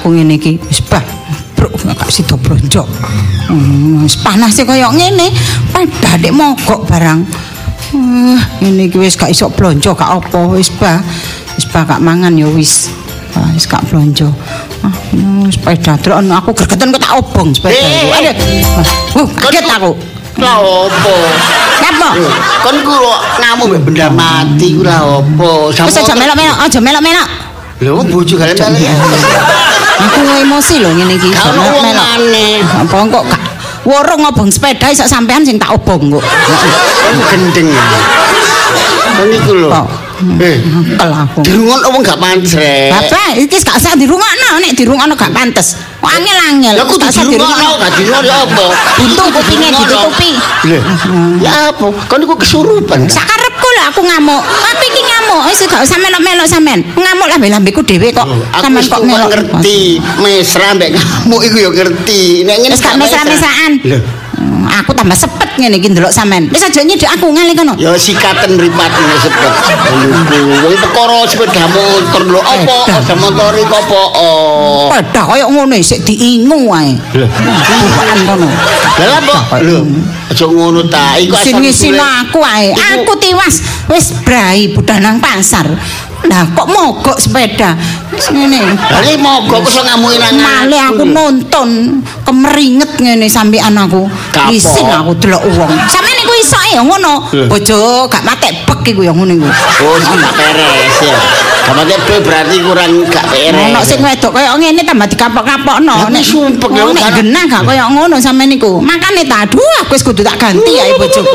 aku ngene iki. Wis bah, bruk gak sida blonjo. Wis panas kaya ngene, padha nek mogok barang. Ngene iki wis gak iso blonjo gak apa, wis bah gak mangan ya wis. Wis gak blonjo. Sepeda drone aku gregeten kok tak obong sepeda iku. Aduh. Kaget aku. Lah opo? Napa? Kon ku ngamuk mbek benda mati ku lah opo? Wis aja melok-melok, aja melok-melok. Lho bojo gale-gale. Aku emosi lho ngene iki. Kalau wong maneh. Apa kok gak worong ngobong sepeda sak sampean sing tak obong kok. Kon gendeng. Kon iku lho. Kelaku. Dirungokno wong gak pantes rek. Bapak, iki gak usah dirungokno, nek dirungokno gak pantes. Kok angel-angel. Lah kudu dirungokno, gak dirungokno apa? Buntu kupinge ditutupi. Lho. Ya apa? Kon iku kesurupan. Sakarepku lho aku ngamuk. Aku iki ngamuk, wis gak usah melok-melok sampean. Ngamuk lambe-lambeku dhewe kok. Sampean kok melok ngerti. Mesra mbek ngamuk iku ya ngerti. Nek ngene gak mesra-mesraan. Lho. Aku tambah sepet ngene iki ndelok sampean. Wis aja nyedhek aku ngale kono. Ya sikaten mripatne sepet. Wong perkara sepeda motor lho apa? Sepeda motor iku apa? Padha kaya ngono sik diingu wae. Bukan kono. Lah apa? Lho, aja ngono ta. Iku asal sing aku wae. Aku tiwas wis brai budal nang pasar. Lah kok mogok sepeda. Ngene. Lah iki mogok kok iso ngamuki nang male aku nonton kemeringet ngene sampean aku. Isin aku delok wong. Sampeyan iku iso ya ngono. Bojo gak matek bek iku ya ngono iku. Oh, sing gak beres ya. Gak matek bek berarti kurang gak beres. Ono sing wedok kaya ngene tambah dikapok-kapokno. Nek sumpek ya nek genah gak kaya ngono sampeyan niku. Makane ta aduh aku wis kudu tak ganti ae bojoku.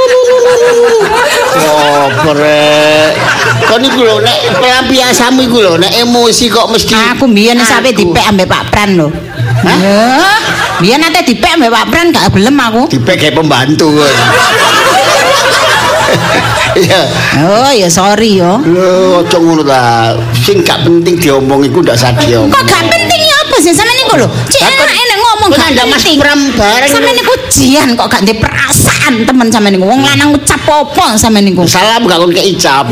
Oh, brek. Kon iku lho nek pelampiasamu iku lho nek emosi kok mesti aku mbiyen sampe dipek ambek Pak Pran lho. Hah? Biyen nate dipek ambek Pak Pran gak gelem aku. Dipek kayak pembantu. Iya. Oh, ya sorry yo. Lho, aja ngono ta. Sing gak penting diomong iku ndak usah diomong. Kok gak penting ya apa sih sampeyan niku lho? Cek enak ngomong gak ada Mas Pram bareng. Sampeyan niku jian kok gak ndek perasaan temen sampeyan niku. Wong lanang ucap apa sampeyan niku? Salam gak kon keicap.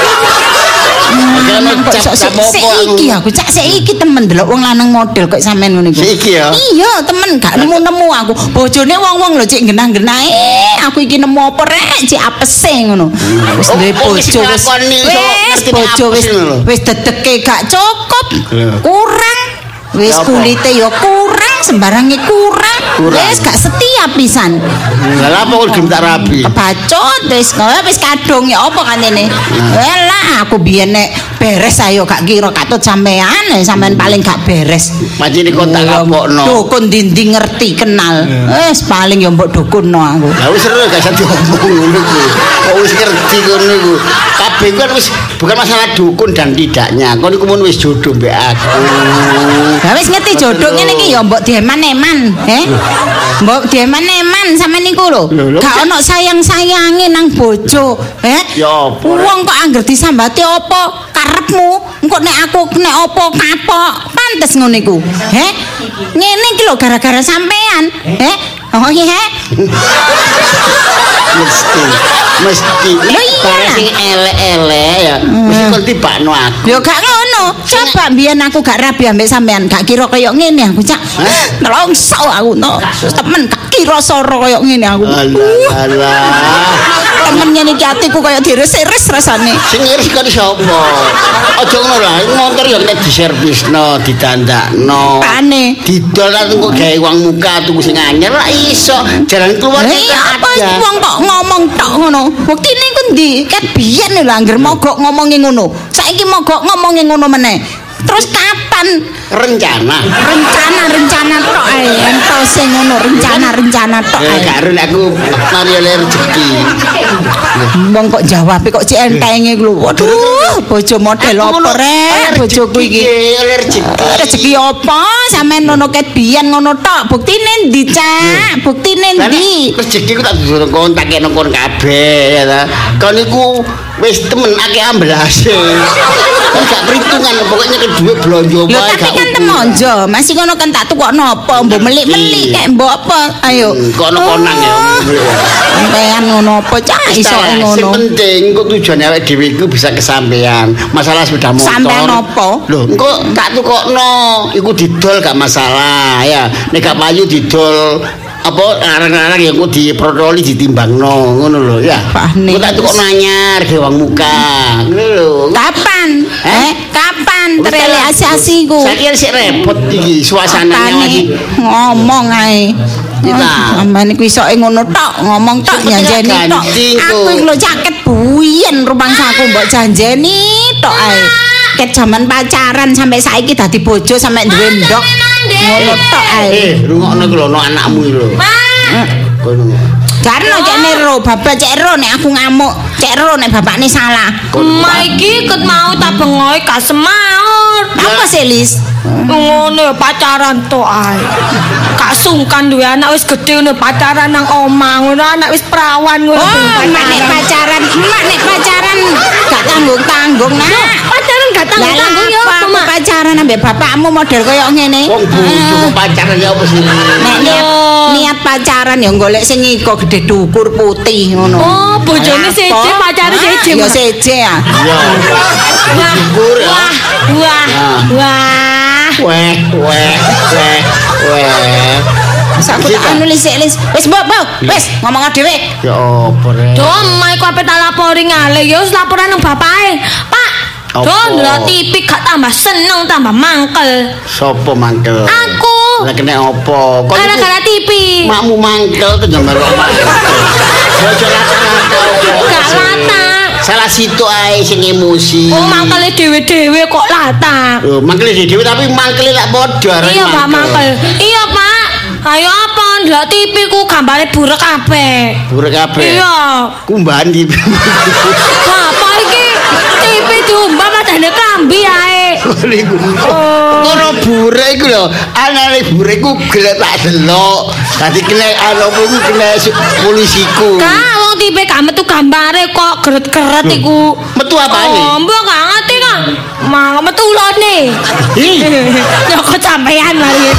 Seiki aku cak seiki temen delok wong lanang model kok sampean ngono iku. Seiki ya. Iya, temen gak nemu-nemu aku. Bojone wong-wong lho cek genah-genah. Aku iki nemu apa rek cek apese ngono. Wis duwe bojo wis bojo wis dedeke gak cukup. Kurang. Wis kulite ya kurang, sembarange kurang. Wis gak setia pisan. Lah apa kok tak rapi? Kebacut wis kadung ya apa kantene. Lah aku biyen nek beres ayo gak kira katut sampean paling gak beres. Macine kok tak kapokno. Dukun dinding ngerti kenal. Wis paling ya mbok dukunno aku. Lah wis seru gak usah diomong ngono ku. Kok wis ngerti ngono iku. Kabeh kan wis bukan masalah dukun dan tidaknya. Kon iku mun wis jodoh mbek aku. Lah wis ngerti jodoh ngene iki ya mbok dieman-eman, mbok dieman-eman sampean niku lho. Gak ono sayang-sayange nang bojo, Ya apa? Wong kok angger disambati apa karepmu? Engko nek aku nek apa kapok, pantes ngono iku. Ngene iki lho gara-gara sampean, Oh iya. Mesti barang sing elek-elek ya mesti kon tibakno aku. Ya gak ngono. Coba mbiyen aku gak rabi ambek sampean, gak kira kaya ngene aku cak. Nelongso aku no. Temen gak kira soro kaya ngene aku. Alah. Temen ngene iki atiku kaya dires-res rasane. Sing iris kok sapa? Aja ngono lah, motor ya nek diservisno, ditandakno. Pane. Didol kok gawe uang muka tuku sing anyar lah iso. Jalan keluar apa wong kok ngomong tok ngono. Buktine ku ndi? Ket biyen lho angger mogok ngomongi ngono. Saiki mogok ngomongi ngono meneh. Terus kapan rencana tok ae ento sing ngono rencana tok ae karo aku mari oleh rezeki wong kok jawab kok cek entenge lho waduh bojo model opo rek bojoku iki rezeki apa sampean ngono ket biyen ngono tok buktine ndi cak buktine ndi rezeki ku tak durung kontak nang kon kabeh ya ta kon niku wis temen akeh ambelase gak perhitungan pokoknya kedua blonjo wae gak kan temonjo, masih ngono kan tak tukokno apa, mbok melik-melik kek mbok apa. Ayo. Kok ono konang ya. Sampean ngono apa cah iso ngono. Sing penting kok tujuane awake dhewe iku bisa kesampean. Masalah sepeda motor. Sampean apa? Lho, engko tak tukokno, iku didol gak masalah ya. Nek gak payu didol apa arang-arang ya kok diprotoli ditimbangno ngono lho ya. Kok tak tukokno anyar gewang muka. Ngono lho. Kapan? Kapan terrealisasi ku? Saiki sik repot iki suasanane lagi. Ngomong ae. Sampeyan iku isoke ngono tok, ngomong tok janjeni tok. Aku iki lho caket buyen rumangsaku mbok janjeni tok ae. Ket jaman pacaran sampai saiki dadi bojo sampe duwe ndok. Ngono tok ae. Rungokno iki lho ana anakmu iki lho. Kono. Karena cek nero, bapak cek ro nek aku ngamuk, cek ro nek bapakne salah. Emak iki ket mau tak bengoe gak semaur. Apa sih Lis? Ngono pacaran tok ae. Gak sungkan duwe anak wis gedhe ngono pacaran nang omah ngono anak wis perawan ngono. Emak nek pacaran gak tanggung-tanggung nak. Pacaran gak tanggung-tanggung ya apa mak? Pacaran ambek bapakmu model koyo ngene. Wong bojo pacaran ya apa sih? Nek niat pacaran ya golek sing iko gede dukur putih ngono. Oh, bojone seje pacare seje. Ya seje ya. Iya. Wah. Aku tak anu Lis. Wis mbok, wis ngomong dhewe. Ya apa rek? Do emak iku ape tak lapori ngale ya wis laporan nang bapake. Pak, do ndelok TV gak tambah seneng tambah mangkel. Sopo mangkel? Aku. Lah kena apa? Gara-gara TV. Makmu mangkel tuh jambar omah. Bojo lata-lata. Gak lata. Salah situ ae sing emosi. Oh, mangkele dhewe-dhewe kok lata. Lho, mangkele dhewe tapi mangkele lak padha. Iya, Pak, mangkel. Iya, Pak. Ayo apa ndelok TV ku gambare burek kabeh. Burek kabeh. Iya. Kumbahan di. Apa iki? TV diumbah padane klambi ae. Kono burek iku lho, anane burek ku gelek tak delok. Dadi kena aloku kena polisiku. Kak, wong TV gak metu gambare kok geret-geret iku. Metu apane? Oh, mbok gak ngerti Kak. Mang metu ulone. Nyokot sampean mari.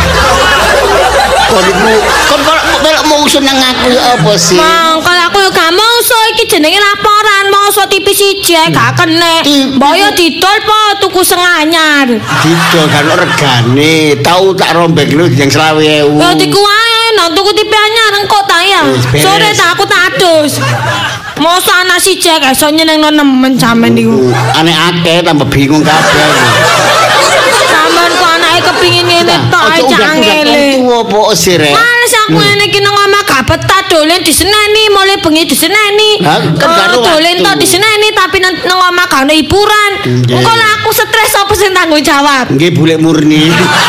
Kon melok mau usun nang aku ya apa sih? Mang kalau aku yo gak mongso iki jenenge laporan mongso TV siji gak kene. Mbok yo didol po tuku sing anyar. Didol kan regane, tau tak rombek lu yang 20.000. Yo diku ae nang tuku TV anyar engko ta ya. Sore tak aku tak adus. Mosok anak siji gak iso nyenengno nemen sampean niku. Aneh akeh tambah bingung kabeh. Sampeyan kok anake kepingin ngene tok ae cangele. Apa sih rek? Males aku ngene iki nang omah gak betah dolen diseneni, mulai bengi diseneni. Dolen tok diseneni tapi nang omah gak ono hiburan. Engko lah aku stres apa sing tanggung jawab? Nggih bulek murni.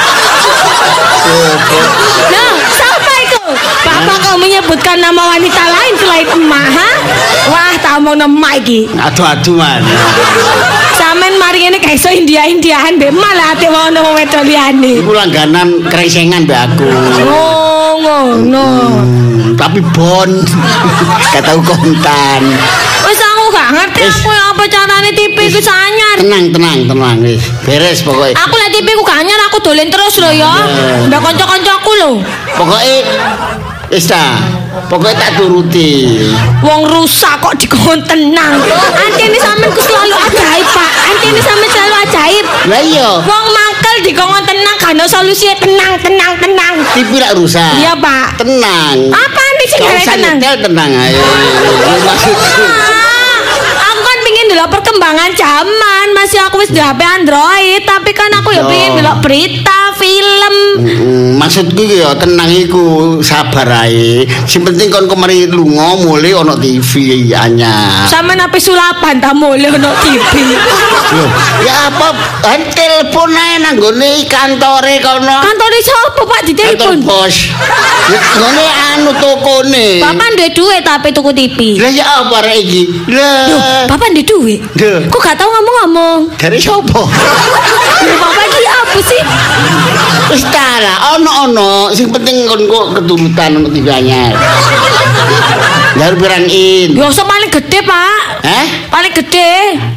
Nah, siapa itu? Bapak kau menyebutkan nama wanita lain selain emak, ha? Wah, tak omong emak iki. Aduh-aduh man. Sampeyan mari ngene gak iso India-indiahan mbek malah ate ono wong wedok liyane. Iku langganan krengsengan mbek aku. Oh, ngono. Tapi bon. Gak tau kontan. Wis aku gak ngerti aku apa carane TV ku anyar. Tenang wis. Beres pokoke. Aku lek TV ku gak anyar aku dolen terus lho ya. Mbak kanca-kancaku lho. Pokoke wis ta. Pokoke tak turuti. Wong rusak kok dikon tenang. Antene sampean ku selalu ajaib, Pak. Antene sampean selalu ajaib. Lah iya. Wong mangkel dikon tenang kan solusinya tenang. TV lak rusak. Iya, Pak. Tenang. Apa nih sing tenang? Tenang ayo. Maksudku. Aku kan pingin delok perkembangan zaman, masih aku wis di HP Android, tapi kan aku ya pingin delok berita, film. Maksudku ya tenang iku, sabar ae. Sing penting kon kemari lunga mulai ono TV anyar. Sampeyan HP sulapan ta mulai ono TV. Loh, ya apa? Telepon ae nang gone kantore kono. Kantore sapa, Pak, di telepon? Kantor pos. Ngene anu tokone. Bapak duwe duit tapi tuku TV. Lah ya apa rek iki? Lah. Bapak duwe duit. Kok gak tau ngomong-ngomong? Dari sapa? Bapak iki apa sih? Wis ta lah, ono. Sing penting kon kok keturutan ono TV anyar. Lah pirang in. Yo paling gede, Pak. Hah? Paling gede.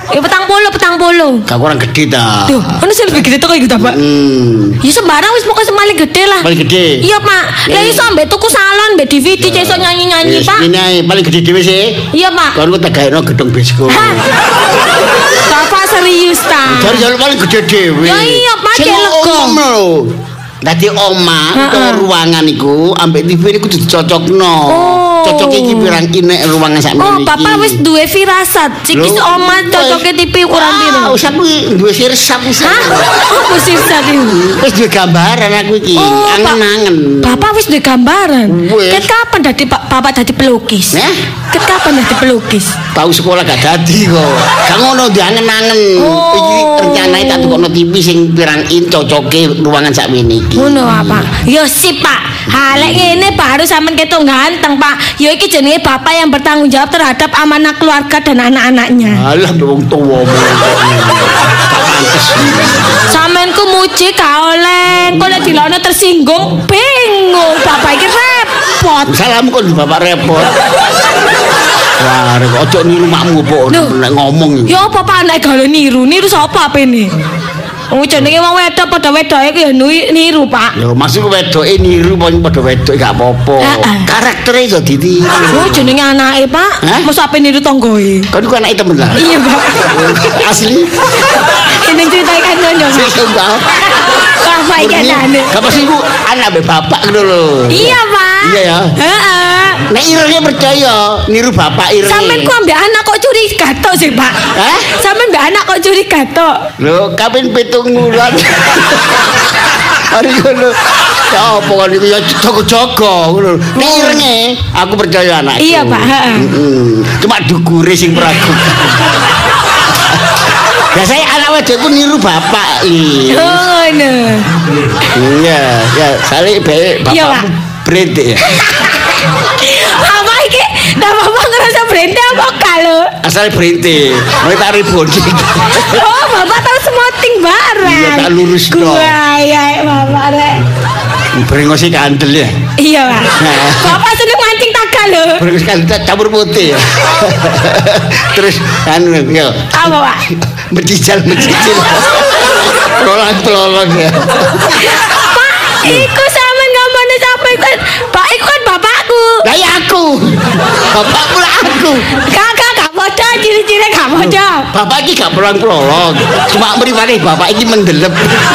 Ya 40. Gak kurang gede ta. Duh, ono sing lebih gede to kok iku ta, Pak. Ya sembarang wis pokoke paling gede lah. Paling gede. Iya, Pak. Lah iso ambek tuku salon, mbek DVD iso nyanyi-nyanyi, Pak. Ini ae paling gede dhewe sih. Iya, Pak. Kon tak gaekno gedung bioskop. Bapak serius ta? Jare paling gede dhewe. Ya iya, Pak, cek lega. Dadi omah utawa ruangan iku ambek TV niku dicocokno. Cocoke iki pirang inek ruangan sak meniki. Oh, Bapak wis duwe firasat. Iki omah cocoke TV ukuran piro? Ah, usah kuwi duwe sirsat wis. Apa sirsat iki? Wis duwe gambaran aku iki. Angen-angen. Bapak wis duwe gambaran. Ket kapan dadi Bapak dadi pelukis? Ket kapan dadi pelukis? Tahu sekolah gak dadi kok. Gak ngono diangen-angen. Iki rencanane tak tukokno TV sing pirang in cocoke ruangan sak meniki. Ngono Pak. Ya sip Pak. Halek ngene baru sampean ketok ganteng Pak. Ya iki jenenge bapak yang bertanggung jawab terhadap amanah keluarga dan anak-anaknya. Alah wong tuwa. Sampean ku muji gak oleh. Kok nek dilono tersinggung bingung. Bapak iki repot. Salam kon bapak repot. Wah, ojo niru makmu po nek ngomong. Ya apa Pak nek gale niru? Niru sapa apene? Wong jenenge wong wedok padha wedoke ku ya niru, Pak. Ya maksudku wedoke niru padha wedoke gak apa-apa. Karaktere iso ditiru. Oh, jenenge anake, Pak. Mosok ape niru tanggoe. Kan iku anake temen lah. Iya, Pak. Asli. Ini cerita kan nyonya. Bapak iki anane. Gak pasti ku anak mbek bapak ngono lho. Iya, Pak. Iya ya. Heeh. Nek irene percaya niru bapak irene. Sampeyan ku ambek anak kok curi gatok sih, Pak? Sampeyan mbek anak kok curi gatok? Lho, kaping 7 bulan. Hari ngono. Ya apa kan iku ya jaga-jaga ngono. Nek irene aku percaya anak. Iya, Pak, heeh. Cuma dukure sing pragu. Biasanya anak wedokku niru bapak iki. Oh, ngono. Iya, ya, sale bapakmu brende ya. Apa iki? Dah bapak ngerasa brende apa kalau? Asal brende, mulai tak ribon. Oh, bapak tahu smoting barang. Iya, tak lurus dong. Wah, ya bapak rek. Brengosi kandel ya. Iya, Pak. Bapak seneng mancing takal lho. Brengosi kandel campur putih ya. Terus anu ya. Apa, Pak? Mencicil. Pelolong ya. Pak, iku sampean ngomongnya sampai Pak, iku kan bapakku. Lah ya aku. Bapakku lah aku. Kakak gak podo, ciri-ciri gak podo. Bapak iki gak pelolong. Cuma mripate bapak iki mendelep.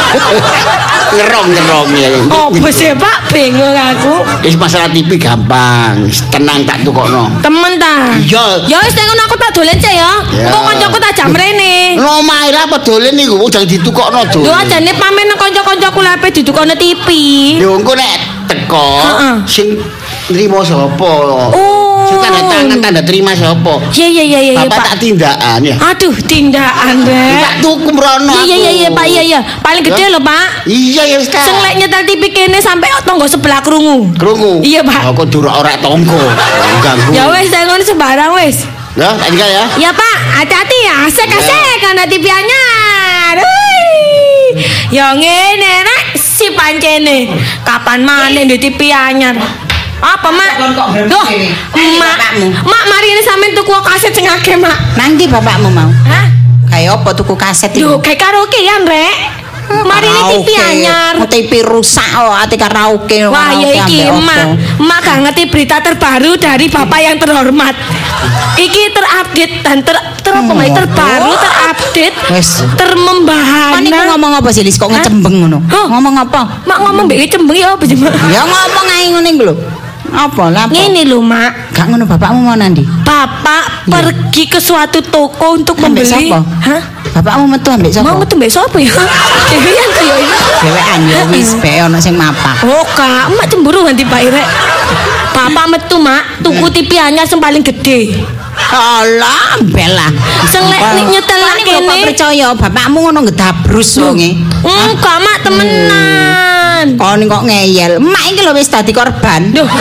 Ngerong ya. Oh, bos Pak, bingung aku. Wis masalah TV gampang, tenang tak tukokno. Temen ta? Iya. Ya wis nek aku tak dolen cek ya. Engko kancaku tak jam rene. Lho mae lah apa dolen niku udah ditukokno do. Lho ajane pamen kanca-kancaku lepe ditukokno TV. Lho engko nek teko sing nrimo sapa? Oh. Sing tanda terima sapa? Iya Bapak tak tindakan ya. Aduh, tindakan rek. Tak tuku mrono. Iya Pak, iya. Paling gede lho, Pak. Iya ya wis ta. Sing lek nyetel TV kene sampai tangga sebelah krungu. Iya, Pak. Kok duruk ora tangga. Ganggu. Ya wis, ngono sembarang wis. Ya, tak tinggal ya. Ya, Pak. Hati-hati ya. Asik-asik ana TV anyar. Ya ngene rek si pancene. Kapan maneh ndek TV anyar? Apa, Mak? Loh, Mak, mari ini sampean tuku kaset sing akeh, Mak. Nang ndi bapakmu mau? Hah? Kayak apa tuku kaset iki? Lho, kayak karaoke ya, Rek. Mari ini TV anyar. TV rusak kok, ati karaoke. Wah, ya iki Mak gak ngerti berita terbaru dari Bapak yang terhormat. Iki terupdate dan terbaru, terupdate, termembahana. Kan iku ngomong apa sih, Lis? Kok ngecembeng ngono? Ngomong apa? Mak ngomong mbek cembeng ya apa sih, Mak? Ya ngomong ae ngene iki lho. Apa lah? Ngene lho, Mak. Gak ngono bapakmu mau nandi? Bapak pergi ke suatu toko untuk membeli. Hah? Bapakmu metu ambek sapa? Mau metu mbek sapa ya? Dewean kaya ini. Dewean ya wis be ono sing mapak. Oh, Kak, Mak cemburu nganti Pak Irek. Bapak metu, Mak, tuku TV anyar sing paling gede. Alah, belah. Sing lek nyetel kene. Kok percaya bapakmu ngono ngedabrus wonge. Enggak, Mak, temenan. Kon Kon kok ngeyel. Emak iki lho wis dadi korban. Duh.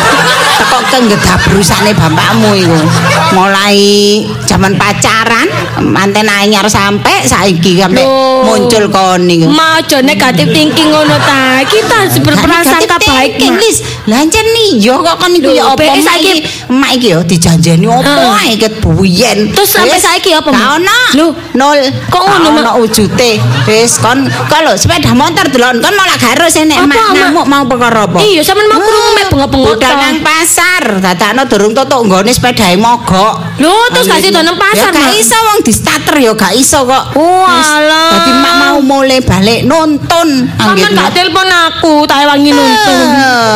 Teko kenggedabrusane bapakmu iku. Mulai zaman pacaran, manten anyar sampai saiki sampai muncul kon niku. Ma aja negatif thinking ngono ta. Kita harus berprasangka baik. Wis, lha jan iya kok kon niku ya apa saiki emak iki ya dijanjeni opo ae ket buyen. Terus sampai saiki apa? Gak ono. Lho, nol. Kok ngono ono wujute. Wis kon lho sepeda motor delok kon malah gak harus enek emak ngamuk mau perkara apa? Iya, sampean mau krungu mek bengok-bengok budal nang pasar, dadakno durung tutuk nggone sepedahe mogok. Lho, terus gak sido nang pasar, ya gak iso wong di starter ya gak iso kok. Walah. Dadi mak mau mulai balik nonton. Sampeyan gak telepon aku, tak wangi nonton.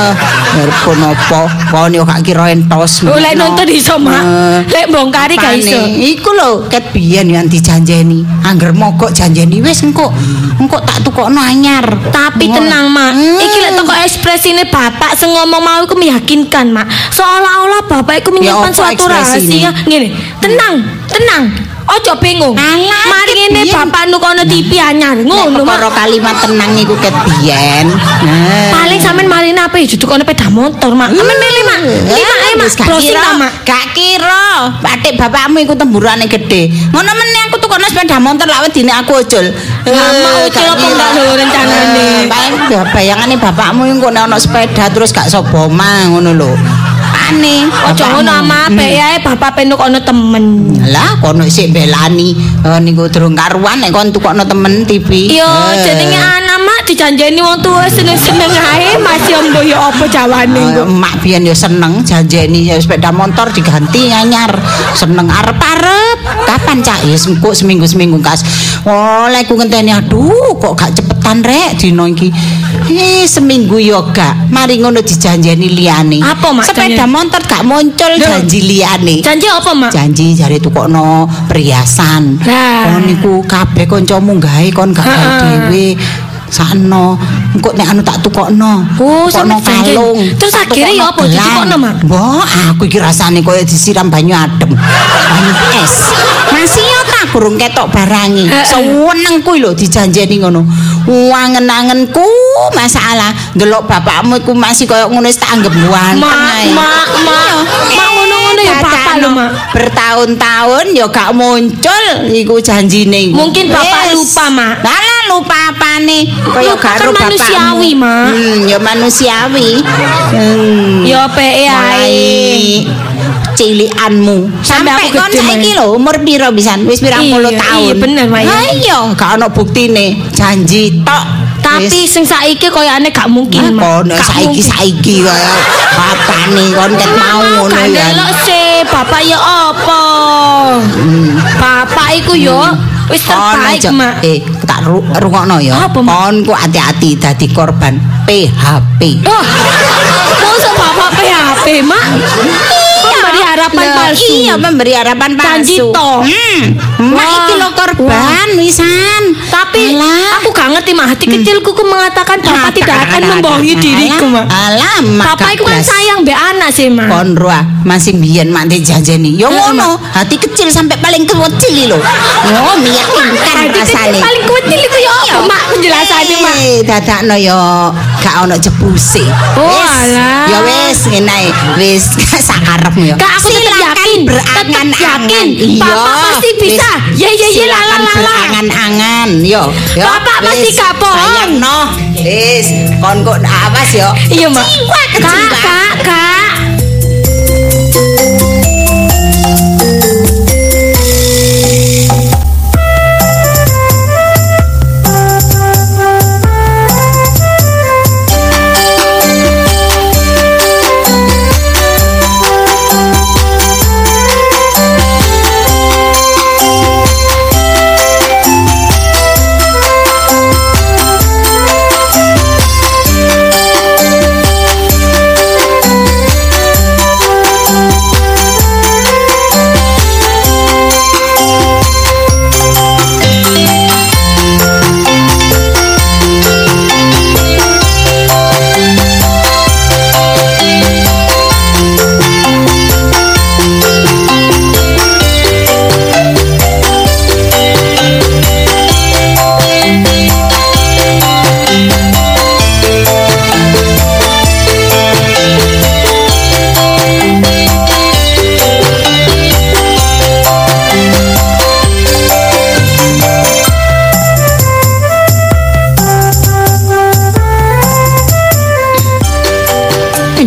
Telepon apa? Kon yo gak kira entos. Lek nonton iso, Mak. Lek bongkari gak iso. Iku lho ket biyen yang dijanjeni. Angger mogok janjeni wis engko tak tukokno anyar. Tapi tenang, Mak. Iki lek toko ekspresine bapak sing ngomong mau iku meyakinkan, Mak. Seolah-olah bapak iku menyimpan suatu rahasia. Ngene, tenang. Ojo bingung. Mari ngene bapak nukono TV anyar. Ngono, Mak. Karo kalimat tenang iku ket biyen. Paling sampean marine apa ya dudukono sepeda motor, Mak. Sampeyan milih, Mak. Lima Mak. Browsing ta, Mak. Gak kira. Batik bapakmu iku temburane gede. Ngono meneh aku tukono sepeda motor lak wedine aku ojol. Mau ojol apa enggak lho rencanane. Paling bayangane bapakmu iku nek ono sepeda terus gak sapa omah ngono lho. Aneh. Ojo ngono ama apik ae bapak penuk ono temen. Lah kono sik belani niku durung karuan nek kon tukokno temen TV. Yo jenenge anak mak dijanjeni wong tuwa seneng-seneng ae masih ombo yo apa jawane kok. Mak biyen yo seneng janjeni sepeda motor diganti anyar. Seneng arep-arep. Kapan cak? Ya engko seminggu kas. Oleh ku ngenteni aduh kok gak cepetan rek dino iki. Seminggu yo gak. Mari ngono dijanjeni liyane. Apa mak? Sepeda motor gak muncul janji liyane. Janji apa mak? Janji jare tukokno perhiasan. Kon niku kabeh kancamu gawe kon gak gawe dhewe. Sakno engko nek anu tak tukokno. Oh, tukokno kalung. Terus akhire ya apa ditukokno, Mak? Mbok, aku iki rasane koyo disiram banyu adem. Banyu es. Masih yo tak kurung ketok barangi. Seneng kuwi lho dijanjeni ngono. Wangen-angenku masalah ndelok bapakmu iku masih koyo ngono wis tak anggap ganteng ae. Mak ngono-ngono ya bapak lho, Mak. Bertahun-tahun yo gak muncul iku janjine. Mungkin bapak lupa, Mak. Lah lupa apane? Kaya karo bapakmu. Manusiawi, Mak. Ya manusiawi. Ya peke ae. Cilikanmu sampai kon saiki lho umur piro pisan? Wis pirang puluh tahun. Iya bener, Mak. Iya, gak ono buktine. Janji tok. Tapi sing saiki koyane gak mungkin, Mak. Kon saiki kaya apane kon ket mau ngono ya. Delok sih, bapak ya apa? Bapak iku yo wis terbaik, Mak. Tak rungokno ya. Kon ku hati-hati dadi korban PHP. Oh. Mosok bapak PHP, Mak? Memberi harapan palsu. Iya, memberi harapan palsu. Janji toh. Mak iki lho korban wisan. Tapi aku gak ngerti, Mak. Hati kecilku ku mengatakan bapak tidak akan membohongi diriku, Mak. Bapak iku kan sayang mbek anak sih, Mak. Kon roa masih biyen mak janjeni. Ya ngono, hati kecil sampai paling kecil lho. Oh, meyakinkan rasane. Paling kecil iku ya apa, Mak? Penjelasane, Mak. Dadakno ya gak ono jebuse. Oh, alah. Ya wis ngene ae. Wis sakarepmu ya. Kak, aku tetap yakin, berangan-angan. Bapak pasti bisa. Ya lala. Berangan-angan. Yo. Bapak pasti gak bohong. No. Wis, kon kok awas yo. Iya, Mak. Kak.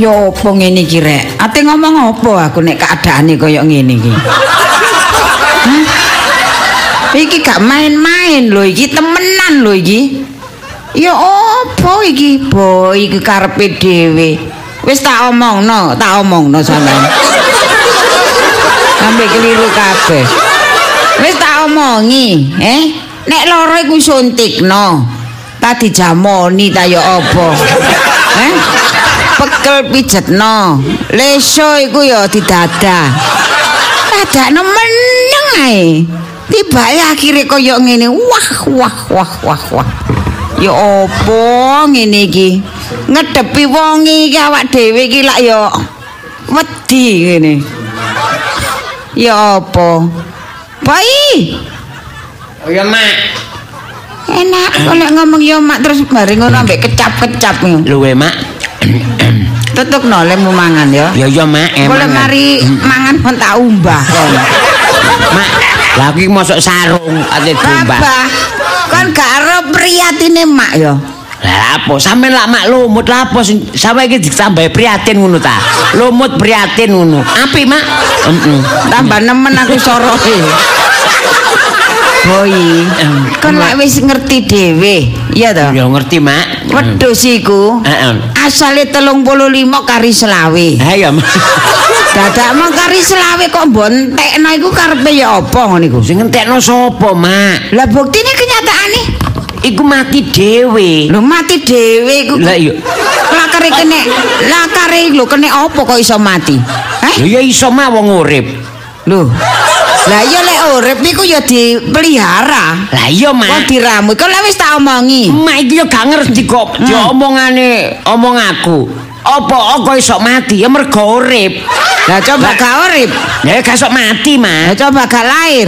kaya apa ngene iki rek? Ate ngomong apa aku nek keadaane kaya ngene iki? Iki gak main-main lho, iki temenan lho iki. Ya apa iki, Boy, iki karepe dhewe. Wis tak omongno sampean. Sampai keliru kabeh. Wis tak omongi, nek lara iku suntikno. Tak dijamoni ta ya apa? Pekel pijetno. Leso iku ya didadah. Dadakno meneng ae. Tibae akhire kaya ngene. Wah. Ya apa ngene iki? Ngedepi wong iki awak dhewe iki lak ya wedi ngene. Ya apa? Pai. Oh ya, Mak. Enak kalau ngomong ya mak terus bareng ngono ambek kecap-kecap ngono. Lho we, Mak. Tutukno lemu mangan ya. Ya ya, Mak. Boleh mari mangan pun tak umbah kon. Mak, lha iki mosok sarung ate diumbah. Abah, kon gak ero priyatine mak ya. Lah apa sampean lak mak lumut lha apa sampe iki ditambahi prihatin ngono ta. Lumut prihatin ngono. Apik, Mak. Tambah nemen aku soroke. Boy, kon lak wis ngerti dhewe, iya to? Ya ngerti, Mak. Wedhus iku asale 35 kari selawe. Ha ya, Mak. Dadak mong kari selawe kok mbontekno iku karepe ya apa ngono iku? Sing ngentekno sapa, Mak? Lah buktine kenyataane iku mati dhewe. Lho mati dhewe iku. Lah iya. Lakare lho kene apa kok iso mati? Lho ya iso mah wong urip. Lho. Lah iya lek urip iku ya dipelihara. Lah iya, Mak. Kok diramu. Kok lek wis tak omongi. Mak iki yo gak ngerti kok diomongane omong aku. Apa kok iso mati? Ya mergo urip. Lah coba gak urip. Ya gak iso mati, Mak. Lah coba gak lahir.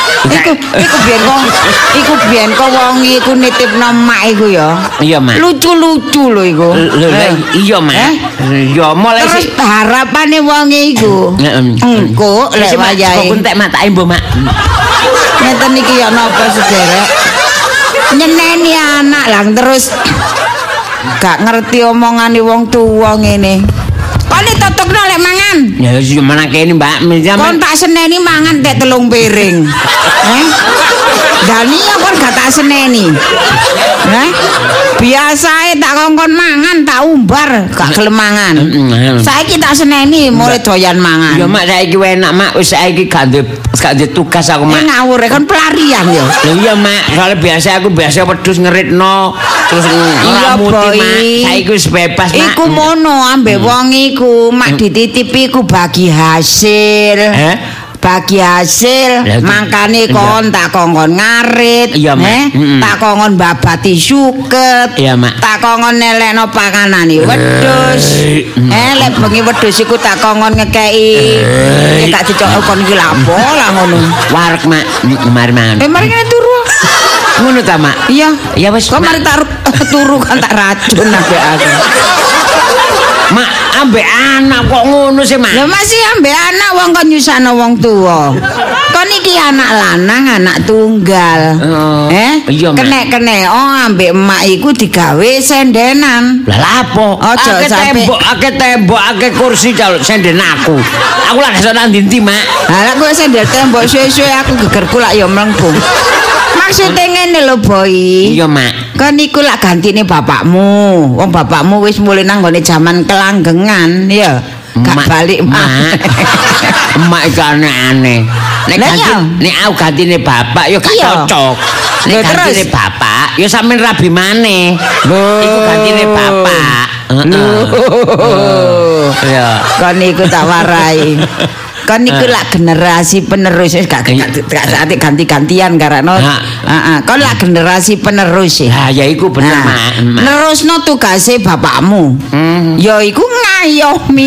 Iku biyen kok wong iku nitipno mak iku ya. Iya, Mak. Lucu-lucu lho iku. Iya, Mak. Ya mulai terus harapane wong iku. Engko lek wayahe. Kok entek mak tak embo, Mak. Ngeten iki ya napa sederek. Nyeneni anak lang terus gak ngerti omongane wong tuwa ngene. Kon tutukno lek mangan. Ya wis mana kene, Mbak. Kon tak seneni mangan tek 3 piring. Dani ya kon gak tak seneni. Biasae tak kongkon mangan tak umbar gak gelem mangan. Saiki tak seneni mulai doyan mangan. Ya Mak saiki enak, Mak. Wis saiki gak ndek tugas aku, Mak. Ngawur kon pelarian ya. Lha iya, Mak. Soale biasa aku wedhus ngeritno terus ngelamuti, Mak. Saiki wis bebas, Mak. Iku mono ambek wong iku mak dititipi iku bagi hasil. Bagi hasil mangkane kon tak kongkon ngarit, tak kongkon babati suket, tak kongkon nelekno pakanane wedhus. Lek bengi wedhus iku tak kongkon ngekeki gak dicok kon iki lapo lah ngono. Warek, Mak. Mari mangan. Mari ngene turu. Ngono ta, Mak? Iya. Ya wis. Kok mari tak turu kan tak racun ambek aku. Mak, ambek anak kok ngono sih, Mak? Lho masih ambek anak wong kon nyusahno wong tuwa. Kon iki anak lanang, anak tunggal. Iya, Mak. Kenek-kenek ambek emak iku digawe sendenan. Lah lapo? Akeh tembok, akeh kursi senden aku. Aku lak iso nang ndi, Mak. Lah kowe sendel tembok suwe-suwe aku gegerku lak ya mlengkung. Maksudnya ngene lho, Boy. Iya, Mak. Kan iku lak gantine bapakmu. Wong bapakmu wis mulai nang gone jaman kelanggengan, ya. Gak balik, Mak. Emak iku aneh-aneh. Nek aku gantine bapak ya gak cocok. Nek gantine bapak ya sampean rabi maneh. Iku gantine bapak. Ya, kan iku tak warai. Kan iku lak generasi penerus gak ganti-gantian karena kan lak generasi penerus ya iku bener, Mak. Nerusno tugase bapakmu. Ya iku ngayomi.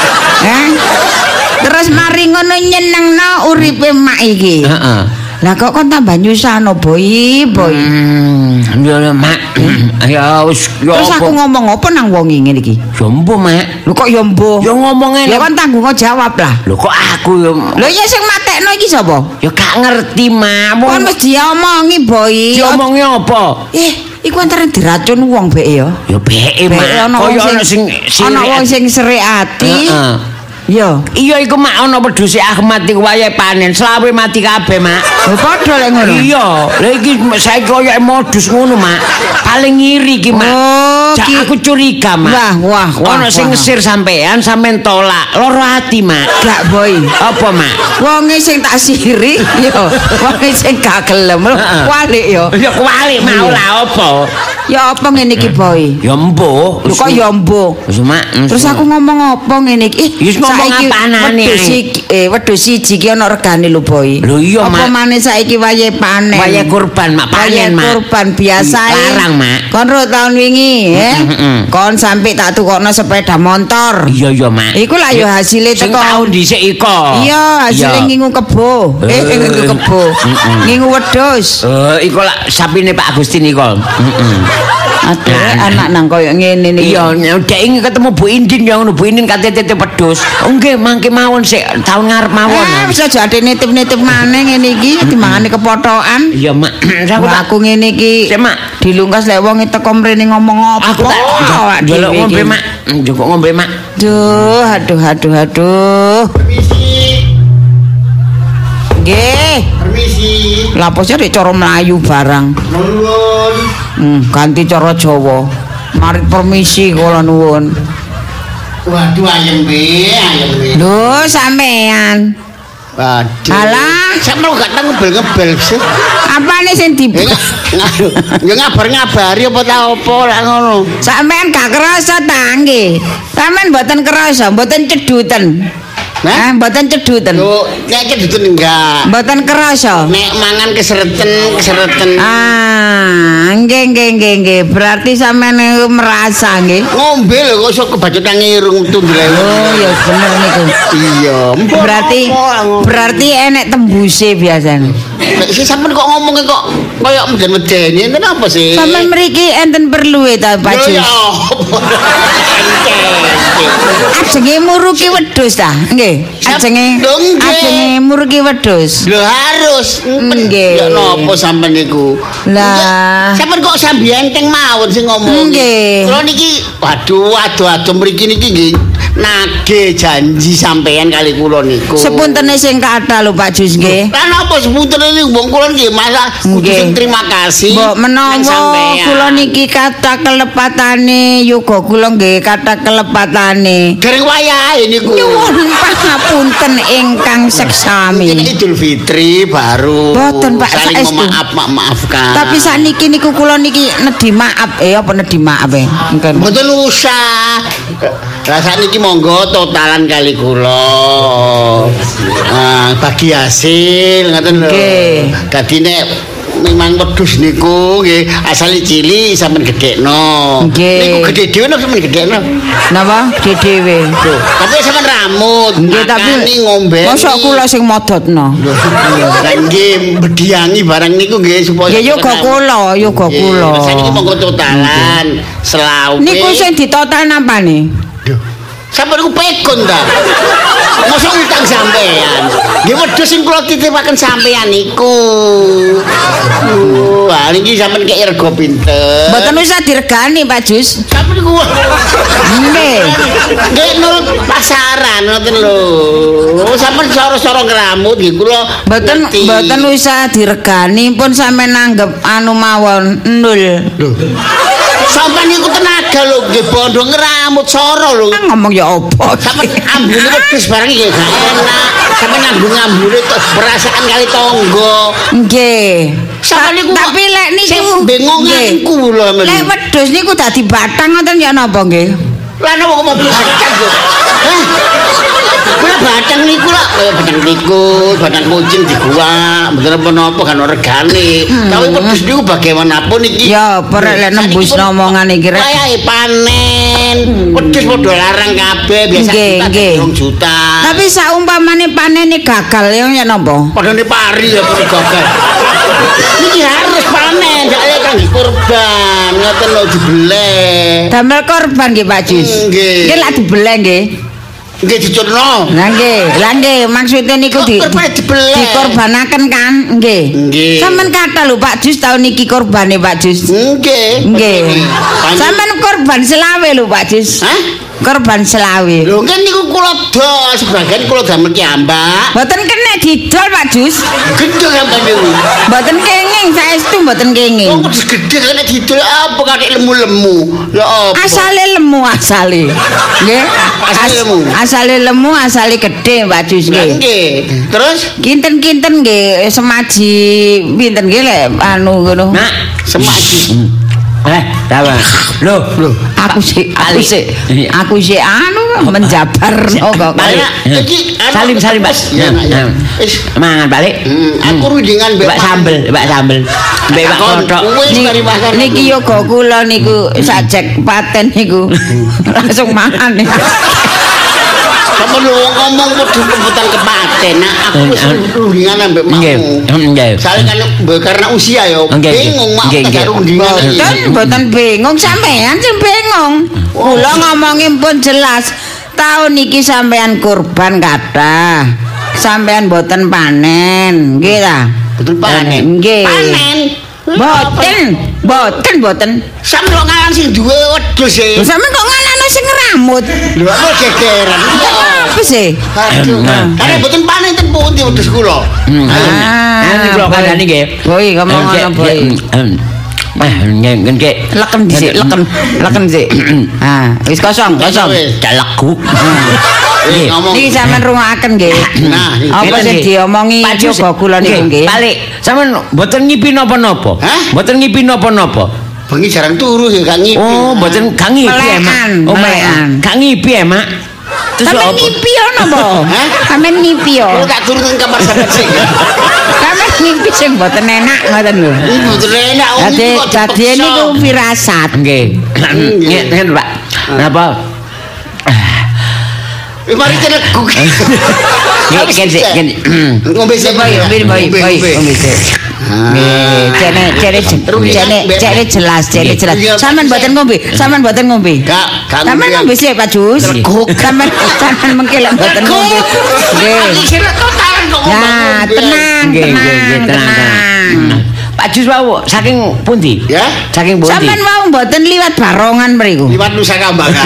Terus mari ngono nyenengno uripe mak iki. Lah kok kon tambah nyusahno, Boy. Ya Mak. Ya wis yo. Terus aku ngomong apa nang wong ngene iki? Jombo, Mak. Lho kok yo mbuh? Ya ngomongane. Ya kan tanggung jawab lah. Lho kok aku yo. Lho ya sing matekno iki sapa? Ya gak ngerti, Mak. Kon mesti diomongi, Boy. Diomongi apa? iku antara diracun wong bek ya. Ya beke mak. Kaya ana sing ana wong sing serik ati. Iya. Iya iku mak ana wedhuse Ahmad iku wayahe panen, selawe mati kabeh mak. Padha lek ngono. Iya, lha iki saiki kaya modus ngono mak. Paling ngiri iki mak. Aku curiga mak. Wah. Ana sing ngesir sampean tolak. Loro ati mak. Gak boy. Apa mak? Wonge sing tak siri yo. Wonge sing gak gelem. Kualik yo. Ya kualik mau lah apa? Ya apa ngene iki boy? Ya mbuh. Lho kok ya mbuh. Wis mak. Terus aku ngomong apa ngene iki? Wis ngomong apanane. Wedhus siji iki ana regane lho boy. Lho iya mak. Apa maneh saiki wayahe panen. Wayahe kurban mak panen mak. Kurban biasa. Larang mak. Kon ro tahun wingi kon sampe tak tukokno sepeda motor. Iya mak. Iku lah ya hasile teko. Sing tau dhisik iko. Iya, hasile ngingu kebo. Ngingu kebo. Ngingu wedhus. Iku lah sapine Pak Agustin iko. Aduh, anak nang koyo ngene iki. Iya, dek ingin ketemu Bu Indin ya ngono, Bu Indin kate titip wedhus. Nggih, mangke mawon sik taun ngarep mawon. Wis aja ade nitip-nitip maneh ngene iki, timbangane kepothokan. Iya, Mak. Aku ngene iki. Sik, Mak. Dilungkas lek wong teko mrene ngomong apa. Aku tak njaluk ngombe, Mak. Njukuk ngombe, Mak. Duh, aduh. Nggih. Permisi. Lapose rek cara Melayu barang. Nuwun. Ganti cara Jawa. Mari permisi kula nuwun. Waduh ayem be. Lho sampean. Waduh. Alah, sampe gak tau ngebel-ngebel sih. Apane sing di Ya ngabar-ngabari apa ta apa lak ngono. Sampean gak kerasa ta nggih. Sampean mboten kerasa, mboten ceduten. Mboten ceduten. Lho, nek ceduten enggak. Mboten kerasa. Nek mangan kesereten. Nggih. Berarti sampean merasa nggih. Ngombe lho kok iso kebacutan ngirung tundle. Oh, ya bener niku. Iya, berarti enek tembuse biasane. Nek sampean kok ngomongnya kok koyo meden-medeni enten apa sih? Sampean mriki enten perlu ta Pak Jus? Ajenge muruki wedhus ta? Nggih. Ajenge muruki wedhus. Lho harus. Nggih. Ya napa sampean niku? Lah, sampean kok sambi enteng mawon sing ngomong. Nggih. Kula niki waduh mriki niki nggih nagih janji sampean kali kula niku. Sepuntene sing kathah lho Pak Jus nggih. Lah napa sepuntene niku wong kula nggih masa kudu terima kasih. Mbok menawa kula niki kathah kelepatane yoga kula nggih kathah kelepatane. Dereng wayahe niku. Nyuwun pangapunten ingkang seksami. Idul Fitri baru. Boten Pak, saling maafkan. Tapi sakniki niku kula niki nedhi maaf apa nedhi maaf mungkin. Mboten usah. Lah sakniki monggo totalan kali kula. Bagi hasil ngoten lho. Dadi nek memang wedhus niku nggih asal cilik sampean gedhekno. Niku gedhe dhewe napa sampean gedhekno? Napa? Gedhe dhewe. Tapi sampean ramut. Nggih tapi ngombe. Mosok kula sing modotno. Lah nggih bediangi barang niku nggih supaya ya yoga kula. Saiki monggo totalan selawe. Niku sing ditotal napane? Sampai aku pekon dah. Masa utang sampean. Nggih wedhus sing kula titipaken sampean niku. Wah, niki sampean kek rega pinten. Mboten usah diregani, Pak Jus. Sampeyan niku. Nggih. Nggih nurut pasaran ngoten lho. Sampeyan soro-soro ngramut nggih kula. Mboten usah diregani pun sampean nanggep anu mawon nul. Lho. Sampeyan niku tenaga lho nggih bondo ngramut soro lho. Ngomong ya apa? Sampeyan ambune wedhus barang iki gak enak. Sampeyan ngambung-ambune perasaan kali tangga. Nggih. Tapi lek niku bengonganku lho. Lek wedhus niku dadi batang ngoten ya napa nggih? Lah napa kok mau batang kok? Kula batang niku lho, batang tikus, batang kucing diguak, mboten apa-apa kan regane. Tapi wedhus niku bagaimanapun iki. Ya, perek lek nembus omongan iki rek. Kayak panen. Wedhus padha larang kabeh biasa nggih. Juta. Tapi saumpamane panene gagal ya napa? Padane pari ya gagal. Niki harus panen, dak kangge kurban, ngoten lho dibeleh. Damel korban nggih Pak Jus. Nggih. Nggih lak dibeleh nggih. Nggih diculno. Lah nggih, maksude niku dikorbanaken kan? Nggih. Sampeyan kata lho Pak Jus tahun niki korbane Pak Jus. Nggih. Sampeyan korban selawe lho Pak Jus. Hah? Korban selawe. Lho kan niku kula dol, sebagian kula damel kiambak. Mboten kena didol Pak Jus. Gedhe sampeyan niku. Mboten kenging, saestu mboten kenging. Kok gedhe kena didol apa katik lemu-lemu. Ya apa? Asale lemu asale. Nggih. Asale lemu, asale gedhe Pak Jus nggih. Nggih. Terus kinten-kinten nggih semaji pinten nggih lek anu ngono. Nak, semaji. Dawa. Loh, Aku sih anu menjabarno kok. Iki salim Pak. Wis Mangan balik. aku rundingan Mbak sambel. Mbak kothok. Niki yoga kula niku sajek paten niku. Langsung mangan. Kamu ngomong kudu kebutan kepaten. Nah, aku wis rundingan ambek makmu. Nggih. Soalnya kan karena usia ya bingung mak tak rundingan. Mboten bingung sampean sing bingung. Kula ngomongin pun jelas. Tahun niki sampean kurban kathah. Sampean mboten panen, nggih ta? Betul panen. Nggih. Panen. Mboten. Sampe ngalan sing duwe wedhus e. Lho sampean kok ngalano sing ngeramut? Lho aku gegeran. Apa sih? Aduh. Karena mboten panen ten pundi wedhus kula. Nanti kula kandhani nggih. Boy ngomong ngono boy. Nggih. Leken dhisik, leken sik. Wis kosong. Dalegu. Niki sampean rungokaken nggih. Nah, apa sing diomongi yoga kula niku nggih. Balik. Sampeyan mboten ngipi napa-napa. Mboten ngipi napa-napa. Bengi jarang turu ya gak ngipi. Oh, mboten gak ngipi Mak. Oh, gak ngipi Mak. Terus sampean ngipi ono apa? Sampean ngipi yo. Kula tak turu nang kamar sampean sing. Sampeyan ngipi sing mboten enak ngoten lho. Mboten enak. Dadi niku firasat. Nggih. Ngeten Pak. Napa? Mari teleguk. Ngombe sik boy. Jane jelas. Sampeyan mboten ngombe. Gak Sampeyan ngombe sik Pak Jus. Sampeyan mengkelek mboten ngombe. Nggih. Nah, tenang. Pak Jus wau saking pundi? Ya? Saking pundi? Sampeyan wau mboten liwat barongan mriku. Liwat Nusa Kambangan.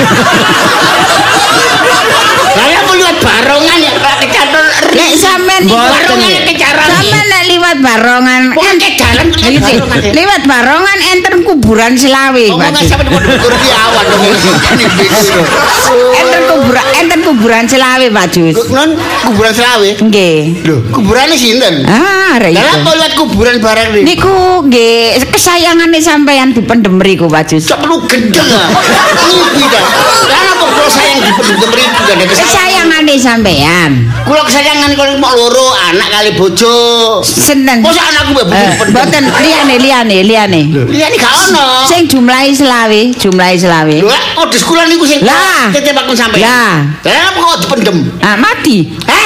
Saya mau liwat barongan ya kecaton. Nek sampean barongan kecaran. Sampean nek liwat barongan ente jalan liwat barongan enten kuburan Selawe Pak. Ngomong sampe kuburan di awan. Enten kuburan Selawe Pak Jus. Non kuburan Selawe. Nggih. Lho, kuburane sinten? Rek. Lah kok liwat kuburan bareng niku? Niku nggih kesayangane sampean dipendem mriku Pak Jus. Cok perlu gendeng ah. Iki ta. Lah kok kula sayang dipendem mriku gak ada kesayangane sampean. Kula kesayangan kula mok loro anak kali bojo. Seneng. Mosok anakku mbek bojo dipendem. Mboten liyane. Liyane gak ono. Sing jumlahe Selawe. Lho, kok di sekolah niku sing tetepakun sampean. Lah. Lah kok dipendem? Mati.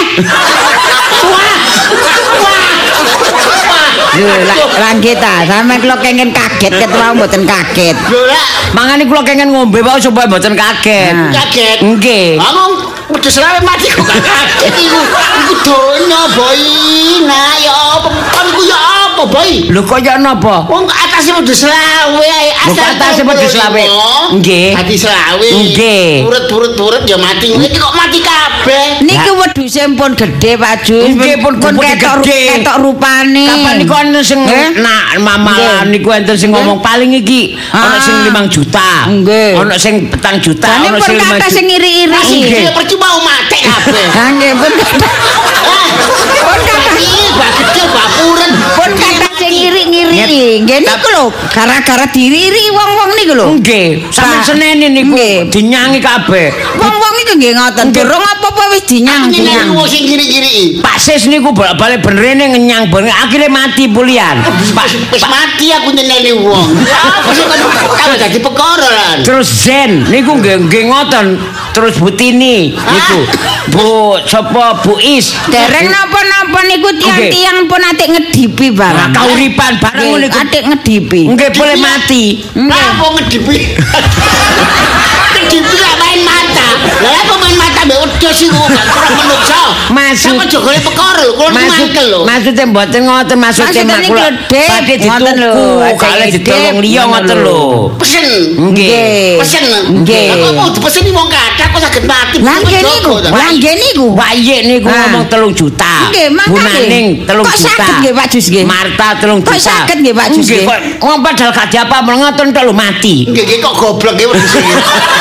Langgit ta, sampe kula kenging kaget ketua mboten kaget. Lho lah, mangane kula kenging ngombe wae supaya mboten kaget. Kaget. Nggih. Ngomong wedhus Selawe mati kok gak kaget iku. Iku donya, Boy. Nah, ya apa? Iku ya apa, Boy? Lho kok ya napa? Wong atase wedhus Selawe ae. Atase wedhus Selawe. Nggih. Mati Selawe. Nggih. Turut ya mati. Iki kok mati kabeh. Niki wedhuse pun gedhe Pak Jus. Nggih pun ketok rupane. Kapan niku ana sing nak mamalan niku enten sing ngomong paling iki ana sing 5 juta. Ana sing 4 juta, ana sing 5 juta. Sing iri-iri iki. Percuma mati kabeh. Ha nggih pun. Pun kata iki gede bapuren. Pun kata sing ngiri-ngiri. Nggih niku lho, gara-gara diriri wong-wong niku lho. Nggih, sampe senene niku dinyangi kabeh. Wong-wong iku nggih ngoten. Durung apa-apa wis dinyang. Wong sing ngiri-ngiri. Pak Sis niku bolak-balik benerne ngenyang bareng akhirnya mati pulian. Wis mati aku nyeneni wong. Apa dadi perkara lan. Terus Zen niku nggih ngoten. Terus Bu Tini niku. Bu sapa Bu Is. Dereng napa-napa niku tiang-tiang pun atik ngedipi barang. Kauripan bareng niku atik ngedipi. Nggih boleh mati. Lah apa ngedipi? Ngedipi gak main mata. Lah apa main mata mbek wedhus sih kok gak kurang menungso. Sama jogone perkara lho, kula mangkel lho. Maksudnya mboten ngoten, maksudnya kula badhe dituku, kale ditolong liya ngoten lho. Pesen. Nggih. Pesen. Nggih. Kok mau dipeseni wong kathah kok saged mati. Lah nggih niku. Wayik niku ngomong 3 juta. Nggih, Bunaning 3 juta. Kok saged nggih Pak Jus nggih? Marta 3 juta. Kok saged nggih Pak Jus nggih? Wong padahal gak diapa ngoten tok lho mati. Nggih kok goblok nggih wedhus iki.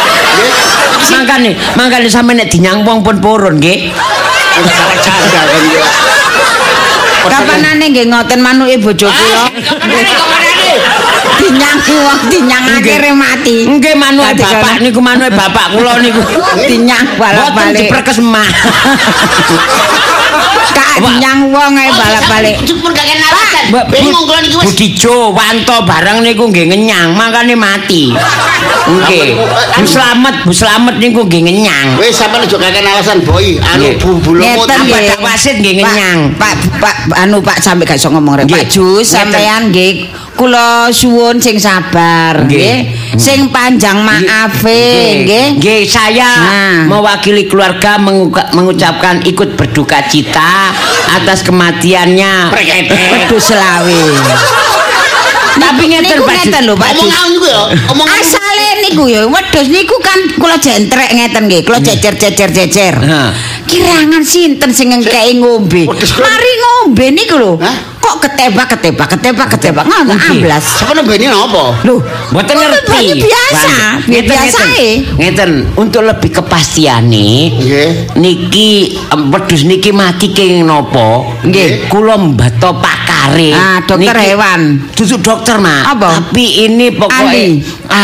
Mangkane sampe nek dinyang wong pun purun nggih. Ora salah jaga kan ya. Kapanane nggih ngoten manuke bojo kula. Dinyang wong dinyang akhire mati. Nggih manuke bapak niku manuke bapak kula niku. Dinyang balik-balik. Diperkes emak. Kak dinyang wong ae balik-balik. Cuma gak kena alasan. Bingung kula niki wis. Budijo, Wanto barang niku nggih ngenyang, mangkane mati. Nggih. Bu Slamet niku nggih ngenyang. Wis sampeyan aja kakek alasan boy, anu bulu-bulumut Badak wasit nggih ngenyang. Pak sampe gak iso ngomong rek. Pak Jus sampean nggih kula suwun sing sabar nggih. Sing panjang maafe nggih. Nggih, saya mewakili keluarga mengucapkan ikut berduka cita atas kematiannya Wedhus Selawe. Tapi ngeten lho Pak Jus. Omong niku ya, omong asale niku ya wedhus niku kan kula jentrek ngeten nggih, kula jejer. Kirangan sinten sing ngekeki ngombe. Mari ngombe niku lho. Kok ketebak ngono amblas. Sapa nembeni napa? Lho, mboten ngerti. Biasa. Ngeten, untuk lebih kepastiane nggih. Niki wedhus niki mati kenging napa? Nggih, kula mbato pakare. Dokter hewan. Dudu dokter, Mak. Tapi ini pokoknya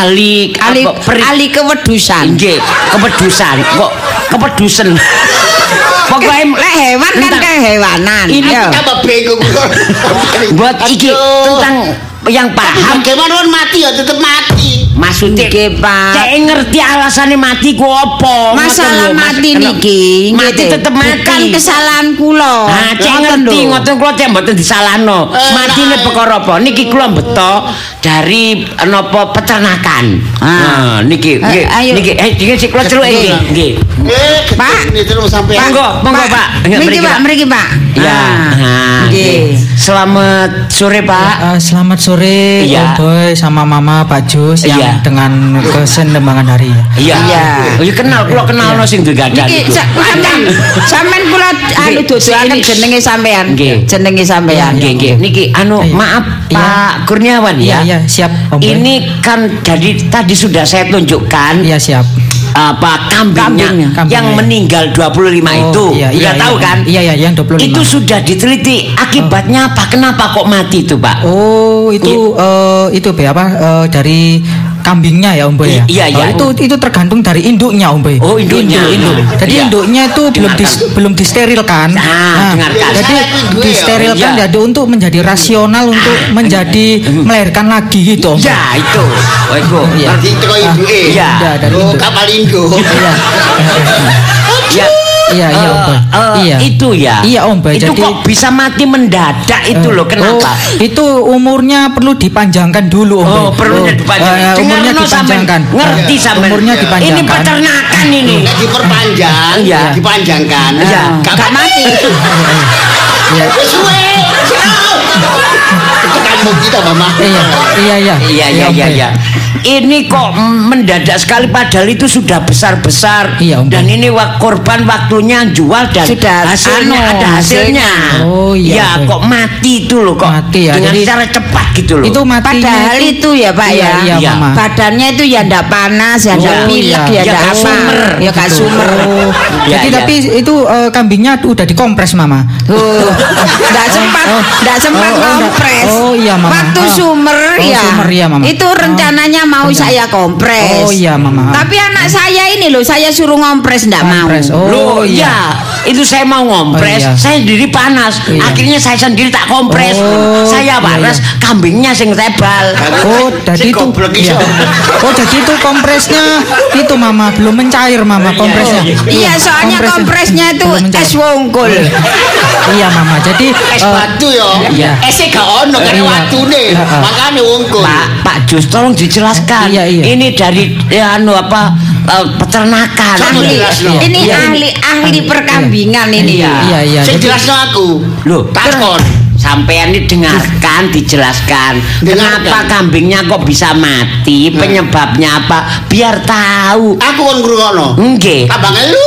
ahli kewedusan. Nggih, kewedusan. Kok kepedusen. Pokoknya lek hewan kan kehewanan. Ini tambah bingung. Buat iki tentang yang paham bagaimana mati ya tetap mati. Maksudnya Pak, cek ngerti alasannya mati ku apa? Masalah mati niki mati tetep mati. Bukan kesalahan kula. Nah, cek ngerti ngoten kula cek mboten disalahno. Matine perkara apa? Niki kula beto dari napa peternakan. Nah, niki niki sik kula celuk iki. Nggih. Pak, niku sampean. Monggo Pak. Mriki Pak. Ya. Nggih. Selamat sore Pak. Selamat sore Om Boy sama Mama Pak Jus yang dengan kesenembang hari ya. Iya. Ya kenal, kula kenalno sing digadan iku. Sampeyan kula anu dodolaken jenenge sampean. Jenenge sampean. Nggih. Niki maaf Pak Kurniawan ya. Iya, siap Om Boy. Ini kan jadi tadi sudah saya tunjukkan. Iya, siap. Apa kambingnya yang meninggal 25 itu. Iya, tahu kan? Iya, yang 25. Itu sudah diteliti akibatnya apa? Kenapa kok mati itu, Pak? Oh, itu dari kambingnya ya Om Boy ya. Iya. Itu tergantung dari induknya Om Boy. Oh, induknya. Jadi induknya itu belum disterilkan. Jadi disterilkan jadi untuk menjadi rasional untuk menjadi melahirkan lagi gitu Om. Ya, itu. Oh, itu. Berarti itu kok ibuke. Iya, dari induk. Kapal induk. Iya. Iya Om Boy. Itu ya. Iya Om Boy. Itu jadi, kok bisa mati mendadak itu loh. Kenapa? Itu umurnya perlu dipanjangkan dulu Om Boy. Perlu dipanjangkan. Umurnya dipanjangkan. Ngerti sampean. Umurnya dipanjangkan. Ini peternakan ini. Diperpanjang, dipanjangkan. Gak mati. Iya. Suwe. Tekan kita Mama. Iya. Ini kok mendadak sekali padahal itu sudah besar-besar. Iya, dan ini korban waktunya jual dan sudah ada hasilnya. Oh iya. Ya kok mati itu loh kok. Mati ya. Dengan cara cepat gitu loh. Itu matinya padahal itu ya Pak ya. Iya, Mama. Badannya itu ya ndak panas, ya ndak pilek, ya ndak sumer. Ya gak sumer. Jadi tapi itu kambingnya udah dikompres Mama. Ndak sempat kompres. Oh iya Mama. Waktu sumer ya. Mama. Itu rencananya mau saya kompres. Oh iya Mama. Tapi anak saya ini loh, saya suruh ngompres ndak mau. Loh iya. Itu saya mau ngompres, saya sendiri panas. Akhirnya saya sendiri tak kompres. Saya panas, kambingnya sing tebal. Oh, jadi itu. Oh, jadi itu kompresnya itu Mama belum mencair Mama kompresnya. Iya, soalnya kompresnya itu es wongkul. Iya Mama. Jadi es batu ya. Ese gak ono karena watune. Makane wongkul. Pak Jus tolong dijelaskan. Iya. Ini dari peternakan. Ini ahli perkambingan ini. Iya. Sing jelasno aku. Loh, takon. Sampean ini dengarkan, dijelaskan. Kenapa kambingnya kok bisa mati? Penyebabnya apa? Biar tahu. Aku kon ngrungokno. Nggih. Tambah ngelu.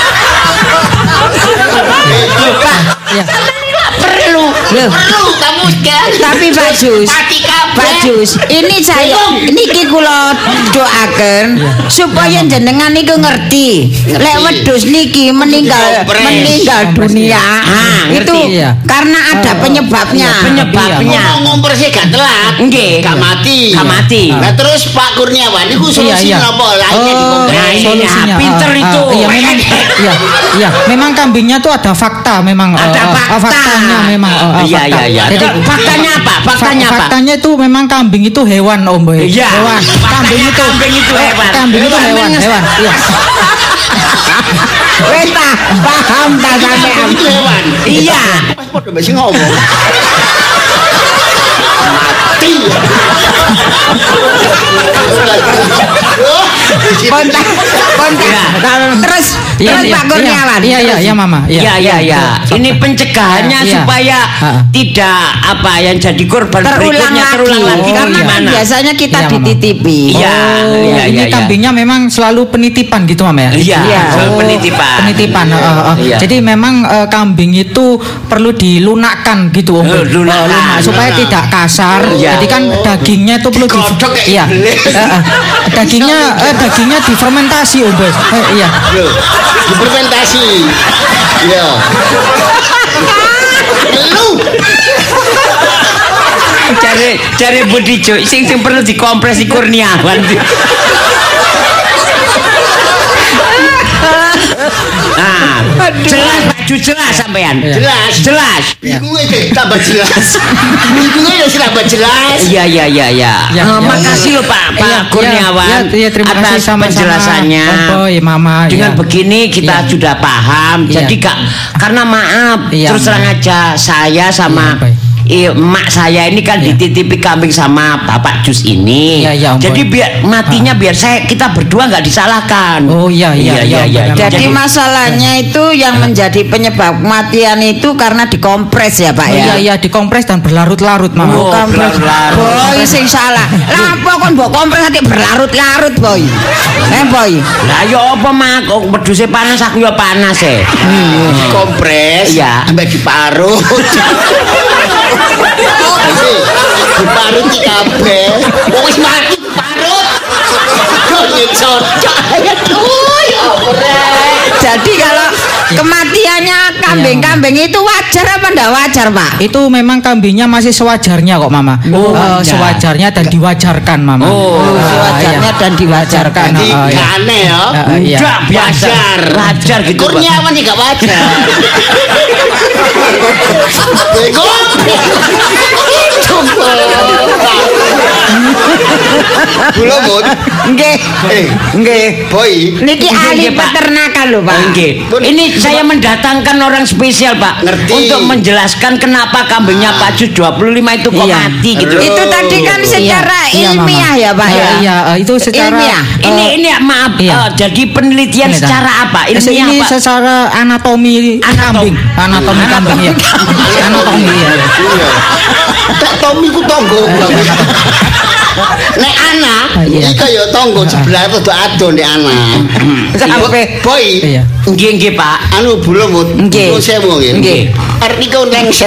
Iya. Perlu kamu kan. Tapi Bajus, ini saya niki kula doaken supaya jenengan niku ngerti. Lek wedhus niki meninggal dunia itu karena ada penyebabnya. Ngompor sih gak telat. Nggih. Gak mati. Nah terus Pak Kurniawan niku solusinya apa? Lainnya dikompres. Solusinya. Pinter itu. Iya, memang kambingnya tuh ada fakta memang. Ada faktanya memang. Iya. Jadi faktanya apa? Faktanya itu memang kambing itu hewan, Om Boy. Iya. Hewan. Kambing itu hewan. Iya. Wes paham ta sampean? Hewan. Iya. Pas podo mbek sing ngomong. Mati. Kontak. Terus Pak Kurniawan. Iya, Mama. Iya. Ini pencegahannya supaya tidak yang jadi korban berikutnya terulang lagi. Karena kan biasanya kita dititipi. Iya. Ini kambingnya memang selalu penitipan gitu, Mama ya? Iya, selalu penitipan. Jadi memang kambing itu perlu dilunakkan gitu, Om. Lunak supaya tidak kasar. Jadi kan dagingnya itu perlu dagingnya difermentasi, Om. Iya. Difermentasi. Iya. Lu Cari Budi Jo, sing perlu dikompres si Kurniawan. Jelas sampean. Jelas. Iku tambah jelas. Iku tambah jelas. Iya. Makasih loh Pak Kurniawan atas penjelasannya. Mama. Dengan begini kita sudah paham. Jadi karena maaf terus terang aja saya sama emak saya ini kan dititipi kambing sama Bapak Jus ini. Jadi biar matinya biar kita berdua nggak disalahkan. Oh iya. Jadi masalahnya itu yang menjadi penyebab kematian itu karena dikompres ya Pak ya. Iya dikompres dan berlarut-larut, Mama. Berlarut-larut. Boy sing salah. Lah apa kon mbok kompres nanti berlarut-larut, Boy. Boy. Lah yo apa mak wedhuse panas aku yo panas Kompres. Iya. Ambek diparut. Diparut iki kabeh. Wis mati parut. Kok cocok. Aduh ya Jadi kalau kematiannya kambing-kambing itu wajar apa enggak wajar, Pak? Itu memang kambingnya masih sewajarnya kok, Mama. Sewajarnya dan diwajarkan, Mama. Sewajarnya dan diwajarkan. Jadi aneh ya. Enggak biasa. Wajar gitu. Kurniawan juga wajar. Bego. Belum, Bun. Nggih. Boy. Niki ahli peternakan lho, Pak. Nggih. Ini saya mendatangkan orang spesial, Pak. Ngerti. Untuk menjelaskan kenapa kambingnya Pak Jus 25 itu kok mati gitu. Itu tadi kan secara ilmiah ya, Pak ya. Iya, itu secara ilmiah. Ini maaf, jadi penelitian secara apa? Ilmiah ini apa? secara anatomi kambing. Anatomi kambing ya. Anatomi ya. Tak Tommy ku tonggo. Nek anak iki kaya tonggo sebelah rada adon nek anak. Sampai boy. Nggih, Pak. Anu bulung nggih. Sewu nggih. Arep niku lengser.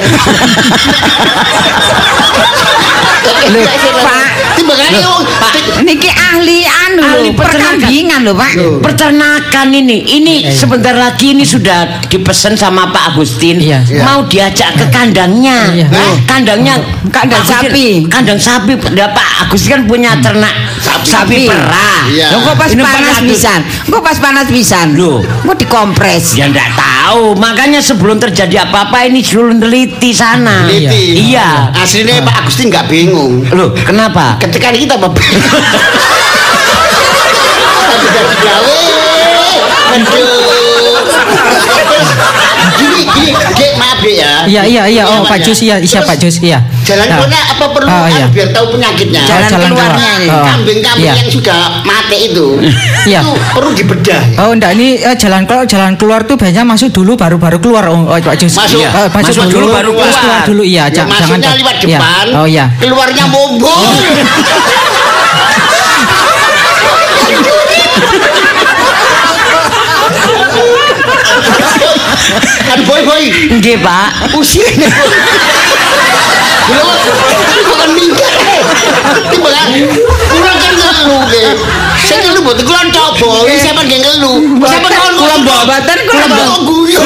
Pak, niki ahli perkambingan lho, Pak. Peternakan ini sebentar lagi ini sudah dipesan sama Pak Agustin. Mau diajak ke kandangnya. Kandang sapi. Kandang sapi. Pak Agustin kan punya ternak sapi perah. Kok pas panas pisan. Loh, kok dikompres. Ya enggak tahu. Makanya sebelum terjadi apa-apa ini dulu neliti sana. Iya. Aslinya Pak Agustin enggak bingung. Loh, kenapa? Ketika kita gawe. Aduh. Gini, maaf ya. Iya. Oh, Pak Jus iya Pak Jus iya. Jalan keluarnya apa perlu biar tahu penyakitnya? Jalan keluarnya ini. Kambing-kambing yang sudah mati itu. Iya. Itu perlu dibedah. Oh, enggak ini jalan keluar tuh biasanya masuk dulu baru keluar Pak Jus. Masuk dulu baru keluar dulu iya. Jangan lewat depan. Oh iya. Keluarnya mombong. Kan boy. Nggih, Pak. Usia. Bukan minggat. Timbalan. Kurang kan ngelu nggih. Saya ngelu mboten kula coba. Iki sampean nggih ngelu. Sampean kula mboten guyu.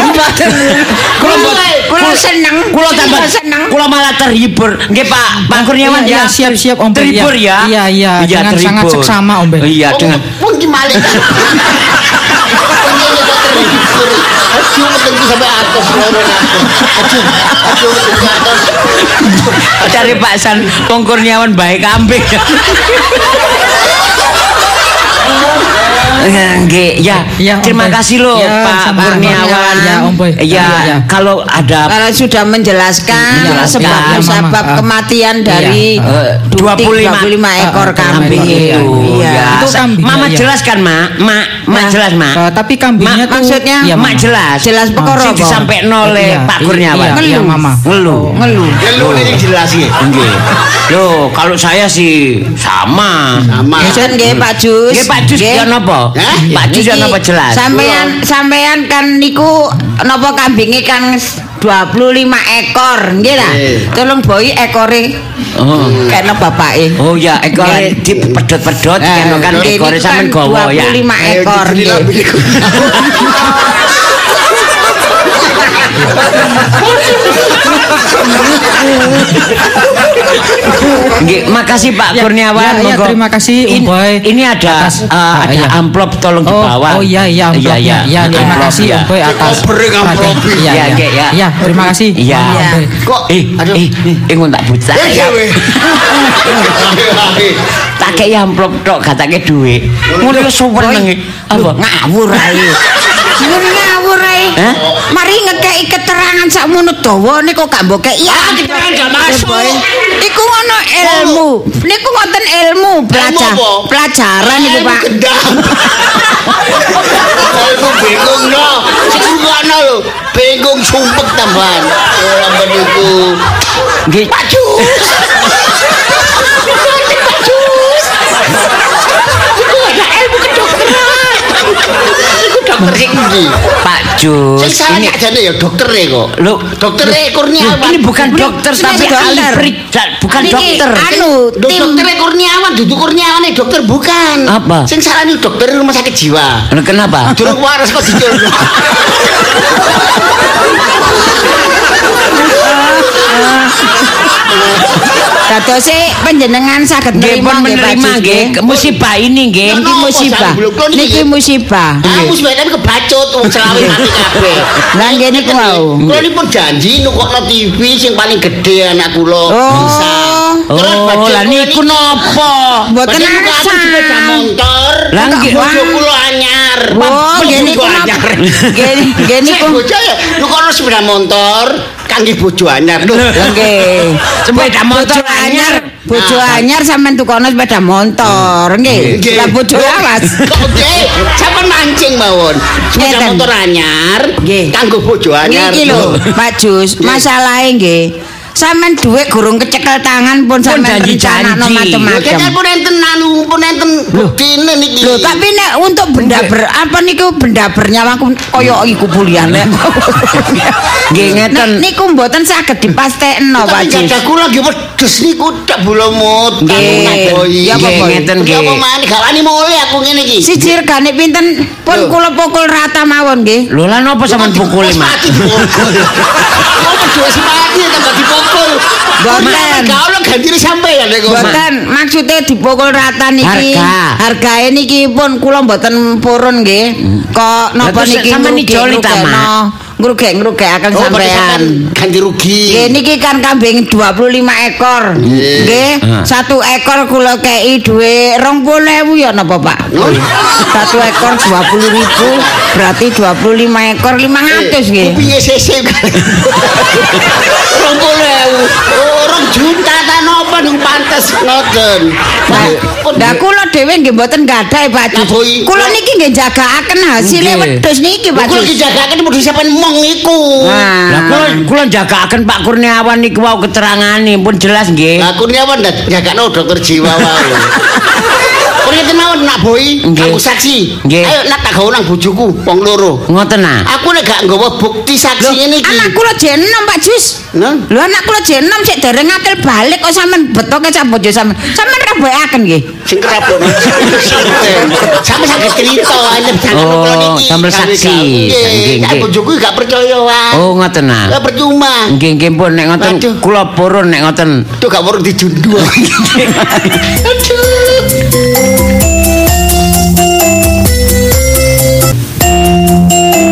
Kula seneng. Kula tambah seneng. Kula malah terhibur. Nggih, Pak Kurniawan ya. Siap Om. Terhibur ya. Iya. Dengan sangat seksama Om. Iya, dengan pun gimana? Aduh, menunggu sampai atas. Aduh, cari Pak San Kurniawan baik kambing. Nggih, ya. Terima kasih loh Pak Kurniawan. Ya, Om Boy. Ya, kalau sudah menjelaskan sebab kematian dari 25 ekor kambing itu. Iya. Mama jelaskan, Mak jelas, Mak. Tapi kambingnya tuh maksudnya Mak jelas perkara apa? disampaikan oleh Pak Kurniawan. Iya, Mama. Ngeluh ini jelas ya. Nggih. Loh, kalau saya sih sama. Nggih Pak Jus. Nggih Pak Jus ya napa? Pak Jus ya napa jelas? Sampean kan niku napa kambinge kan 25 ekor, nggih ta? Tolong boy ekore. Kena bapake. Oh ya, ekore dipedhot-pedhot kena kan ekore sampean gawa ya. 25 ekor nggih. Nggih, makasih Pak Kurniawan. Ya, terima kasih Om Boy. Ini ada amplop tolong dibawa. Oh iya amplopnya. Ya, terima kasih Om Boy atas amplop. Iya, terima kasih. Iya. Kok ngon tak bucah. Tak kei amplop tok gatake dhuwit. Ngono suweneng. Apa ngawur ae. Ngawur ae. Mari ngekeki keterangan sakmono dawane kok gak mbok keki. Keterangan gak masuk. Iku ngono ilmu. Niku ngoten ilmu pelajaran niku Pak. Aku bingung no. Sing lho, bingung sumpek tambahan. Ora meniku. Nggih. Pak Jus. Pak Jus. Sing salah gak jane ya doktere kok. Lho, doktere Kurniawan. Ini bukan dokter tapi ahli bukan dokter. Doktere Kurniawan, dudu Kurniawane dokter bukan. Apa? Sing salah niku dokter rumah sakit jiwa. Lho kenapa? Durung waras kok dicul. Dados panjenengan saged nerima nggih musibah ini nggih. Niki musibah. Musibah kan kebacut wong selawe mati kabeh. Lah nggih niku wau. Kula nipun janji nukokno TV sing paling gedhe anak kula bisa. Oh, lah niku napa? Mboten asa sepeda motor. Lah nggih bojo kula anyar. Oh, nggih niku anyar. Nggih niku. Bojo ya nukokno sepeda motor kangge bojo anyar lho. Nggih. Sepeda motor anyar. Bojo anyar sampean tukono sepeda motor, nggih. Lah bojo awas. Nggih, sampean mancing mawon. Sepeda motor anyar kanggo bojo anyar. Niki lho, Pak Jus, masalahe nggih. Sampeyan dhuwit gurung kecekel tangan pun sampeyan rencanakno macam-macam. Kan pun enten pun enten buktine niki. Lho, tapi nek untuk benda apa niku benda bernyawa kaya iku buliane. Nggih ngeten. Niku mboten saged dipastekno, Pak Jus. Tapi kula nggih wedhus niku tak bulamut. Nggih. Ya apa ngeten nggih. Apa maneh gak wani mulih aku ngene iki. Siji regane pinten pun kula pukul rata mawon nggih. Lho lah napa sampean pukul, Mak? Wedhus mati tambah dipukul. Mboten. Gak ono gantine sampeyan kok. Mboten, maksude dipukul rata niki. Hargae niki pun kula mboten purun nggih. Kok napa niki sampeyan ijoli ta, Mak? ngrugek-ngrugekaken sampean. Ganti rugi. Nggih niki kan kambing 25 ekor. Nggih. 1 ekor kula kei dhuwit 20.000 ya napa Pak? 1 ekor 20.000 berarti 25 ekor 500 nggih. Piye sesek? 20.000. Orang juta ta napa ning pantes ngoten. Lah kula dhewe nggih mboten gadah Pak Jus. Kula niki nggih jagaaken hasile wedhus niki Pak Jus. Kula dijagaaken wedhus sampean mong iku. Lah kula jagaaken Pak Kurniawan niku wau keterangane pun jelas nggih. Lah Kurniawan jagakno dokter jiwa wae. Kurniawan mawon nak boi, aku saksi. Ayo nak tak gawe nang bojoku wong loro. Ngoten ah. Aku nek gak nggawa bukti saksi ngene iki. Anak kula jen 6 Pak Jus. Lho anak kula jen 6 sik dereng ngatil balik kok sampean betoke sak bojo sampean. Sampean rabokaken nggih. Sing kerapok. Sampe saged cerita aja kula niki. Sambil saksi. Nggih, bojoku gak percaya wae. Oh ngoten ah. Ya percuma. Nggih nggih pun nek ngoten kula purun nek ngoten. Tuh gak purun dijundu. Aduh.